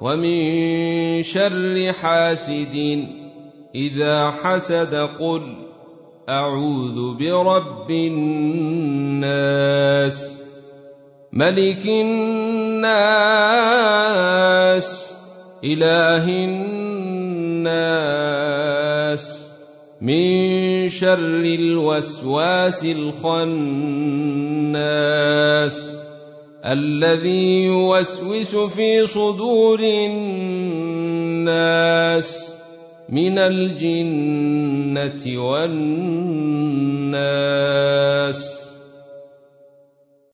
ومن شر حاسد إذا حسد. قل أعوذ برب الناس ملك الناس إله الناس من شر الوسواس الخناس الذي يوسوس في صدور الناس من الجنة والناس.